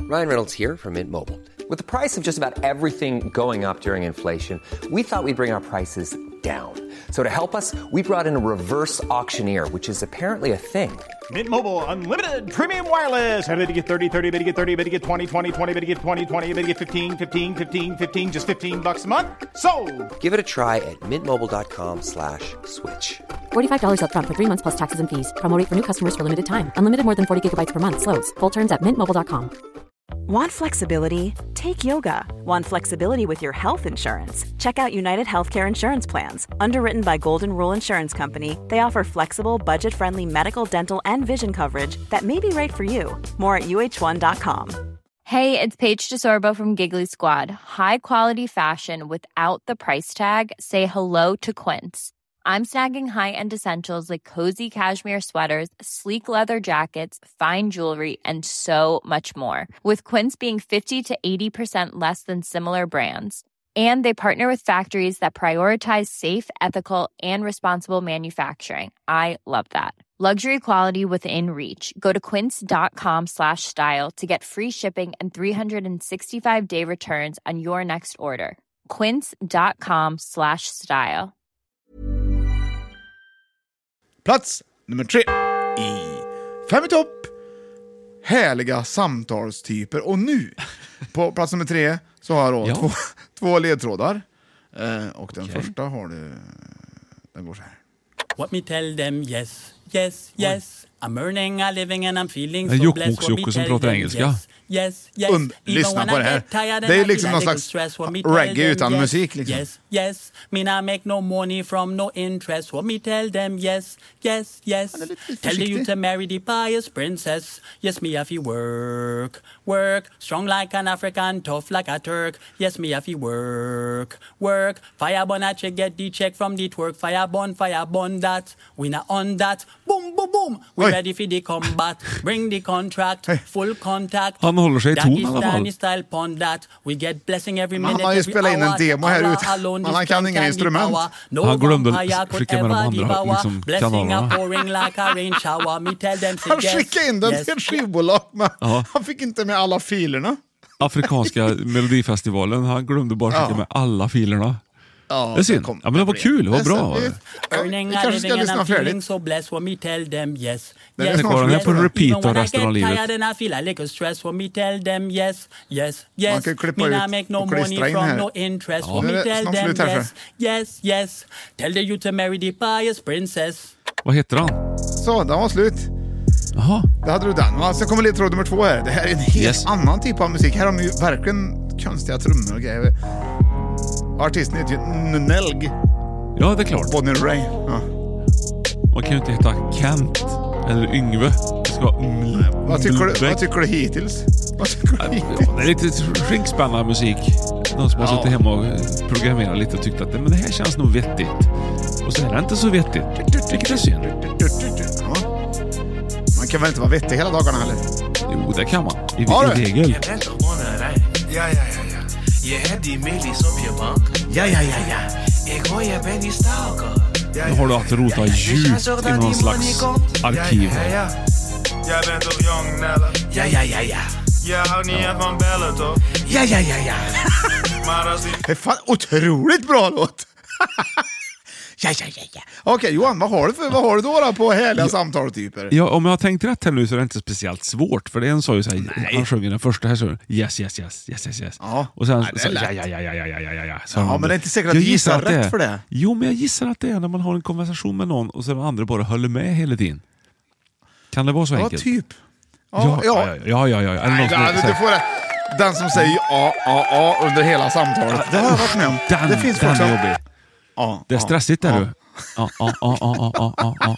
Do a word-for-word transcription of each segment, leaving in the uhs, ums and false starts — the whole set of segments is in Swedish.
Ryan Reynolds here from Mint Mobile. With the price of just about everything going up during inflation, we thought we'd bring our prices down. So to help us, we brought in a reverse auctioneer, which is apparently a thing. Mint Mobile Unlimited Premium Wireless. How to get thirty, thirty, how to get thirty, how to get twenty, twenty, twenty, how to get twenty, twenty, how to get fifteen, fifteen, fifteen, fifteen, just fifteen bucks a month? Sold! Give it a try at mintmobile.com slash switch. forty-five dollars up front for three months plus taxes and fees. Promo rate for new customers for limited time. Unlimited more than forty gigabytes per month. Slows full terms at mint mobile dot com. Want flexibility? Take yoga. Want flexibility with your health insurance? Check out United Healthcare Insurance Plans. Underwritten by Golden Rule Insurance Company, they offer flexible, budget-friendly medical, dental, and vision coverage that may be right for you. More at U H one dot com. Hey, it's Paige DeSorbo from Giggly Squad. High quality fashion without the price tag. Say hello to Quince. I'm snagging high-end essentials like cozy cashmere sweaters, sleek leather jackets, fine jewelry, and so much more. With Quince being fifty to eighty percent less than similar brands. And they partner with factories that prioritize safe, ethical, and responsible manufacturing. I love that. Luxury quality within reach. Go to quince.com slash style to get free shipping and three sixty-five day returns on your next order. Quince.com slash style. Plats nummer tre i Fem i topp. Härliga samtalstyper. Och nu, på plats nummer tre, så har jag då Ja. två, två ledtrådar. Eh, och den Okej. första har du... Den går så här. What me tell them yes, yes, yes. I'm earning a living and I'm feeling Det är so blessed. Jokkmokks-Jocke What me som tell pratar them engelska. yes, yes, yes. Und, lyssna på det här. Det är liksom någon slags reggae utan musik liksom. Yes, yes. Me not make no money from no interest. What me tell them yes, yes, yes. Han är lite Tell försiktig. you to marry the pious princess. Yes, me have to work, work. Strong like an African, tough like a Turk. Yes, me have to work, work. Fire burn a check, get the check from the twerk. Fire burn, fire burn that. We not on that. Boom, boom, boom. We Oj. ready for the combat. Bring the contract, full contact. Han håller sig i ton i alla fall. Dagestani style pon that. We get blessing every Men han minute, har ju every spelat in en hour. demo här Allah ute. alone Men han is kan strength inga and the instrument. power. No Han glömde vampire could skicka med de ever andra, devour. liksom, Blessing kanalerna. are pouring like a rain shower. Me tell them say Han yes, skickade in den yes, till ett skivbolag, men Ja. han fick inte med alla filerna. Afrikanska melodifestivalen. Han glömde bara skicka Ja. med alla filerna. Ja, Det är synd. kom- Ja, men det var kul, det var bra. Det- Earning Vi a kanske ska living and lyssna I'm feeling färdigt. so blessed. When me tell them yes, Den är yes, snart kvar, den är yes. på repeat Even when av resten I av get livet. tired and I feel a little stress. When me tell them yes, yes, yes. Man kan klippa Me ut not make no och klistra money in from här. no interest. Ja. When Nu är me det tell snart them slut här, yes, yes, yes. Tell the you to marry the pious princess. Vad heter han? Så, den var slut. Jaha. Där hade du den. Va? Sen kommer ledtråd nummer två här. Det här är en helt Yes. annan typ av musik. Här har de ju verkligen konstiga trummor och grejer. Artisten heter ju Nelg. Ja, det är klart. Bonnie Ray. Ja. Man kan ju inte heta Kent eller Yngve. Det ska vara mm, Vad, tycker du, Blbäck. vad tycker du hittills? Vad tycker du hittills? Ja, det är lite skinkspännande musik. Någon som har Ja. suttit hemma och programmerat lite och tyckt att men det här känns nog vettigt. Och så är det inte så vettigt. Vilket är synd. Ja. Man kan väl inte vara vettig hela dagarna heller? Jo, det kan man. I, Ja, i du. regel. Ja, ja, ja, ja. Jeg er de millis op je bank. Ja, ja, ja, ja. Ik hoor je bent die stalker. Nu har du att rota djupt i någon slags arkiv. Ja, ja. Jij bent toch jong, Nelle? Ja, ja, ja, ja. Je houdt niet echt van bellen, toch? Ja, ja, ja, ja. Maar als die... Det är fan otroligt bra låt. Ja, ja, ja, ja. Okej, Johan, vad har du för, vad har du då, då på härliga ja. samtalstyper? Ja, om jag har tänkt rätt här nu så är det inte speciellt svårt. För det är en sa ju såhär, han sjöng den första här så yes, yes, yes, yes, yes, yes. Ja. Och sen Nej, det är så, lätt. ja, ja, ja, ja, ja, ja, ja, ja. Så Ja, han, men det är inte säkert att jag du gissar att det rätt är, för det. Jo, men jag gissar att det är när man har en konversation med någon och så den andra bara håller med hela tiden. Kan det vara så Ja, enkelt? typ. Ja, ja, ja, ja, ja, ja. Är det någon Nej, som nej, säger- du får det. Den som säger ja, ja, ja under hela samtalet. Det har jag varit med om. Den, det finns den folk som... är jobbig. Ja, Det är ja, stressigt där ja. du. Ja, ja, ja, ja, ja, ja, ja.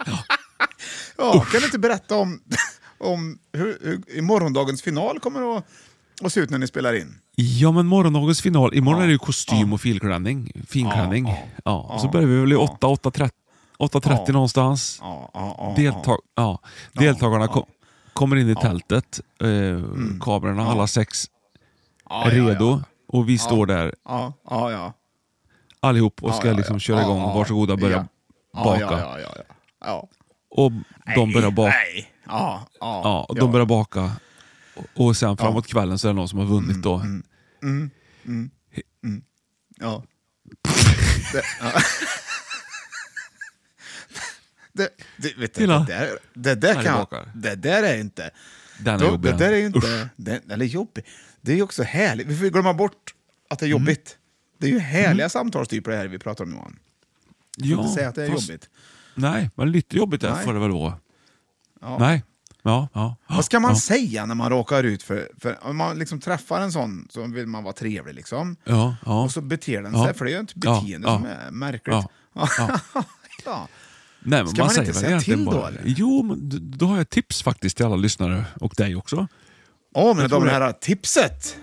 Ja, kan du inte berätta om, om hur, hur i morgondagens final kommer att, att se ut när ni spelar in? Ja, men morgondagens final. Imorgon Ja. är det ju kostym och filklänning. Finklänning. Ja, Ja, ja, och så ja, börjar vi väl i ja. åtta, åtta trettio åtta trettio Ja. någonstans. Ja, ja, ja, Deltag- ja. Deltagarna ja. kom, kommer in i Ja. tältet. Eh, kamerorna, Ja. alla sex Ja, är ja, redo. ja. Och vi står där Ja, ja, ja. allihop och ska Ja, ja, liksom ja. köra igång. Ja, ja. Varsågoda, börja Ja. Ja, baka. Ja, ja, ja, ja. ja. Och de börjar baka. Nej. Ja, ja, Ja, och ja. de börjar baka. Och, och sen framåt ja. kvällen så är det någon som har vunnit då. Mm, mm, mm, mm. Ja. det, ja. det, det, vet du, det, där, det, där kan, det där är inte... Den är då, jobbig. Det där är inte... Den, eller jobbig. Det är ju också härligt. Vi får glömma bort att det är jobbigt. Mm. Det är ju härliga mm. samtalstyper det här vi pratar om, Johan. Jag får ja, inte säga att det är fast, jobbigt. Nej, men lite jobbigt där får det väl vara. Ja. Nej. Ja, ja. Vad ska man ja. säga när man råkar ut för... för om man liksom träffar en sån så vill man vara trevlig liksom. Ja, ja. Och så beter den ja. sig, för det är ju ett beteende ja, som ja. är märkligt. Ja. Ja. ja. Nej, men ska man, man säger inte säga till bara, då? Eller? Jo, men då har jag ett tips faktiskt till alla lyssnare och dig också. Åh, oh, men de här tipset!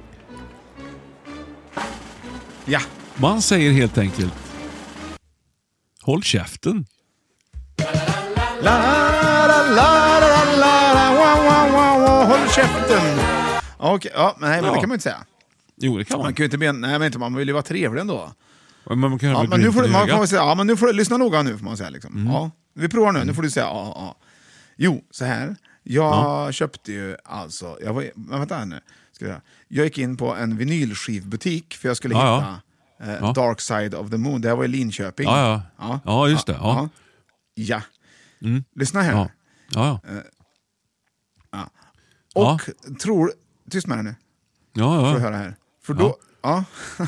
Ja. Man säger helt enkelt håll käften. La, la, la, la, la, la, wow, wow, wow, håll käften. Okej, ja, nej, men ja. det kan man inte säga. Jo, det kan man. Man kan ju inte be, nej, men inte, man vill ju vara trevlig ändå. Men man kan ja, men nu får, man får säga, ja, men nu får du lyssna noga nu får man säga liksom. Mm. Ja, vi provar nu, mm. nu får du säga ja, ja. Jo, så här. Jag ja. köpte ju alltså, jag var, men vänta här nu. Ska jag, jag gick in på en vinylskivbutik för jag skulle ja, hitta ja. Eh, ja. Dark Side of the Moon. Det här var i Linköping. Ja, ja. Ja, ja just det. Ja. Ja. Mm. Lyssna här. Ja. Ja, ja. Eh, ja. Och ja. tror, tyst med det nu. Ja, ja. Får du höra här. För då, ja. ja.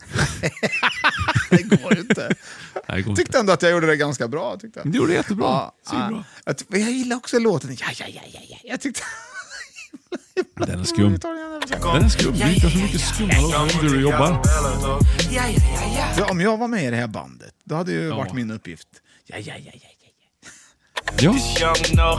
det går inte. Nej, går tyckte inte. ändå att jag gjorde det ganska bra. Tyckte jag. Du gjorde det jättebra. Ja, ja. Jag, jag gillar också låten. Ja, ja, ja, ja, ja. Jag tyckte... Den är skum. Den är skum. Det är inte så mycket skumma låtar när du jobbar. Ja, om jag var med i det här bandet, då hade ju ja. varit min uppgift. Ja, ja, ja, ja, ja. Ja. Ja,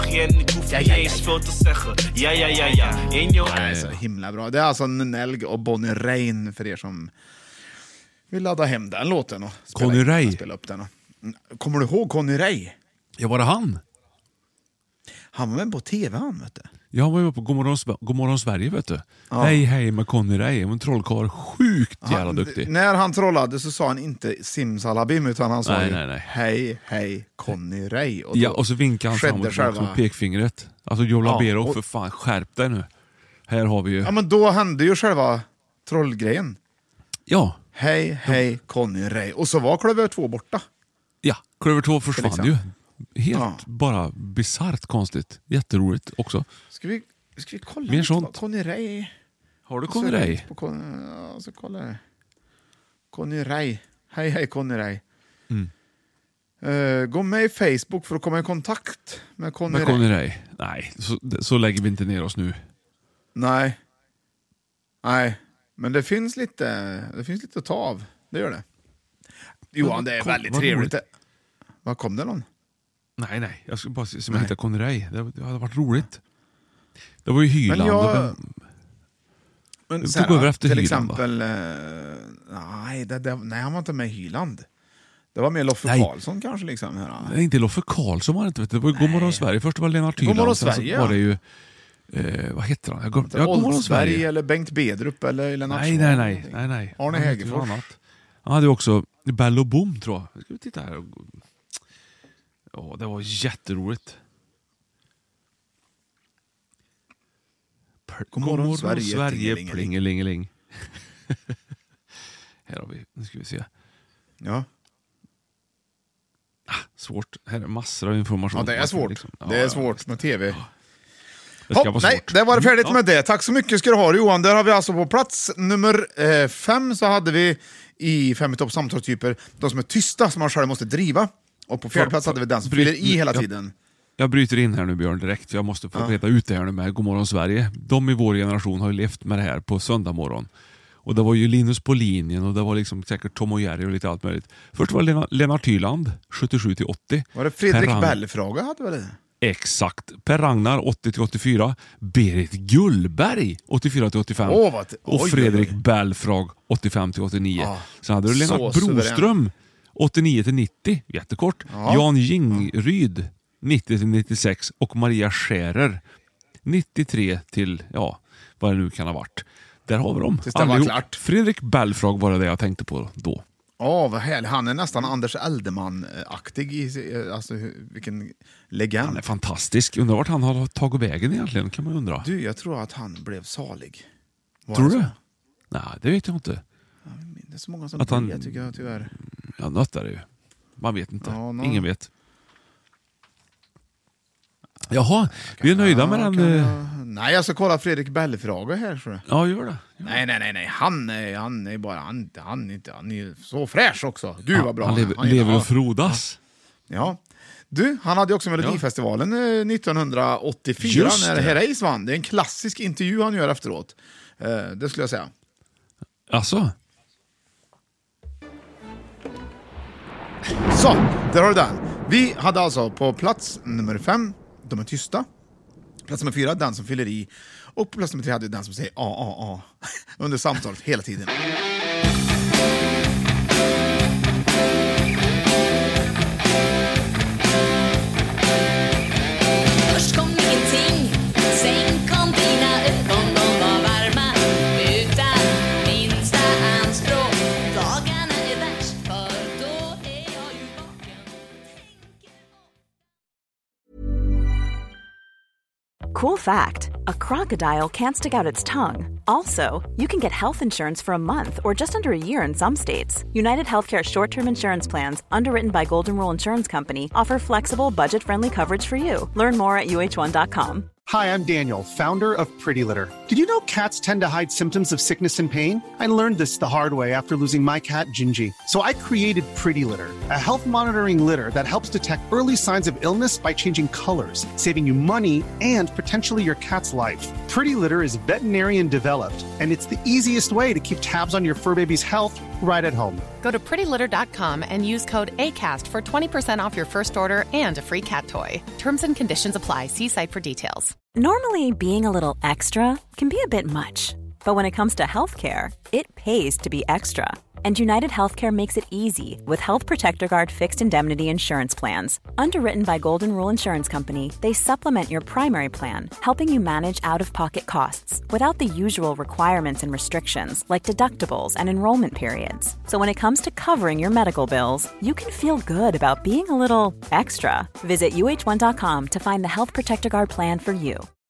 ja, ja, ja. Det är så himla bra. Det är alltså Nelg och Bonnie Rain för er som vill ladda hem den låten och spela, Conny Ray. spela upp den. Och... Kommer du ihåg Conny Ray? Ja, var det han? Han var med på tv, han, vet du. Ja, han var ju på Godmorgon, Godmorgon Sverige, vet du. Ja. Hej, hej med Conny Ray. En trollkarl, sjukt jävla han, duktig. När han trollade så sa han inte simsalabim, utan han sa nej, ju, nej, nej. hej, hej, Conny Ray. Och ja, och så vinkade han framåt själva... med pekfingret. Alltså, Joe Labero, ja, och... för fan, skärp dig nu. Här har vi ju... Ja, men då hände ju själva trollgrejen. Ja. Hej, hej, Conny Ray. Och så var Klöver två borta. Ja, Klöver två försvann liksom. ju. Helt ja. bara bizarrt konstigt. Jätteroligt också. Ska vi, ska vi kolla mer sånt? Conny Ray. Har du Conny Ray? Ja, så kolla. Conny Ray. Hej, hej Conny Ray. Mm. Uh, gå med i Facebook för att komma i kontakt med Conny med Ray. Conny Ray. Nej, så, så lägger vi inte ner oss nu. Nej. Nej, men det finns lite det finns lite att ta av. Det gör det. Johan, det är kom, väldigt trevligt. Vad kom det någon? Nej, nej. Jag skulle bara se som jag hittar Conny Ray. Det, det hade varit roligt. Det var ju Hyland. Men jag... Den... Men det sen, tog över efter till Hyland, exempel... Uh, nej, det, det, nej, han var inte med i Hyland. Det var mer Loffe Karlsson kanske. Liksom, här. Nej, inte Loffe Karlsson var det inte. Vet du. Det var ju Godmorgon Sverige. Först var det Lennart Hyland. Godmorgon Sverige, var det ju... Eh, vad heter han? Jag går, jag Old Sverige eller Bengt Bedrup eller Lennart. Nej, nej, nej, nej, nej. Arne Hägerfors. Han hade också Bell och Boom, tror jag. Ska vi titta här. Ja, det var jätteroligt. Godmorgon Sverige, Sverige plingelingeling. Här har vi, nu ska vi se. Ja. Ah, svårt. Här är massor av information. Ja, det är svårt. Liksom. Ja, det är svårt med tv. Ja. Det ska Hopp, vara nej, svårt. det var det färdigt ja. med det. Tack så mycket ska du ha, Johan. Där har vi alltså på plats nummer eh, fem så hade vi i fem i topp samtalstyper de som är tysta, som man själv måste driva. Och på fjärde plats hade vi den som fyller i hela tiden. Jag bryter in här nu, Björn, direkt. För jag måste få ja. reda ut det här nu med Godmorgon Sverige. De i vår generation har ju levt med det här på söndag morgon. Och det var ju Linus på linjen och det var liksom säkert Tom och Jerry och lite allt möjligt. Först var det Lena, Lennart Hyland, sjuttiosju till åttio. Var det Fredrik Rang... Bell-fråga hade väl det? Exakt. Per Ragnar, åttio till åttiofyra. Berit Gullberg, åttiofyra till åttiofem. Oh, vad... Och Fredrik Bellfrag, åttiofem till åttionio. Ah, Sen hade du Lennart Broström, suverän. åttionio till nittio. Jättekort. Ah. Jan Jingryd, nittio till nittiosex. Och Maria Scherer, nittiotre till, ja, vad det nu kan ha varit. Där har vi dem. Klart. Fredrik Bellfrag var det, det jag tänkte på då. Ja, vad härligt. Han är nästan Anders Eldeman-aktig. I, alltså, vilken legend. Han är fantastisk. Undrar vart han har tagit vägen egentligen, kan man undra. Du, jag tror att han blev salig. Var tror det du? så? Nej, det vet jag inte. Det är så många som att han, blir, tycker jag tyvärr. Ja, något är det ju. Man vet inte. Ja, no. Ingen vet. Jaha, vi är nöjda med den. Jag... Nej, jag ska kolla Fredrik Belfrage här. Så. Ja, gör det. Gör. Nej, nej, nej, nej. Han är, han är bara, han, han, är inte, han är så fräsch också. Gud ja, vad bra. Han lever, han lever och frodas. Ja. ja. Du, han hade också Melodifestivalen ja. nittonhundraåttiofyra Just när det. Herreys vann. Det är en klassisk intervju han gör efteråt. Uh, det skulle jag säga. Alltså? Så, där har du den. Vi hade alltså på plats nummer fem, De är tysta. Plats nummer fyra, Den som fyller i. Och på plats nummer tre hade Den som säger a, a, a. Under samtalet hela tiden. Först kom ingenting, sen kom dina ögon, de var varma utan minsta anspråk. Dagarna är värst, för då är jag ju vaken. Cool fact, a crocodile can't stick out its tongue. Also, you can get health insurance for a month or just under a year in some states. United Healthcare short-term insurance plans, underwritten by Golden Rule Insurance Company, offer flexible, budget-friendly coverage for you. Learn more at U H one dot com. Hi, I'm Daniel, founder of Pretty Litter. Did you know cats tend to hide symptoms of sickness and pain? I learned this the hard way after losing my cat, Gingy. So I created Pretty Litter, a health monitoring litter that helps detect early signs of illness by changing colors, saving you money and potentially your cat's life. Pretty Litter is veterinarian developed, and it's the easiest way to keep tabs on your fur baby's health right at home. Go to pretty litter dot com and use code ACAST for twenty percent off your first order and a free cat toy. Terms and conditions apply. See site for details. Normally, being a little extra can be a bit much, but when it comes to healthcare, it pays to be extra. And United Healthcare makes it easy with Health Protector Guard fixed indemnity insurance plans. Underwritten by Golden Rule Insurance Company, they supplement your primary plan, helping you manage out-of-pocket costs without the usual requirements and restrictions like deductibles and enrollment periods. So when it comes to covering your medical bills, you can feel good about being a little extra. Visit U H one dot com to find the Health Protector Guard plan for you.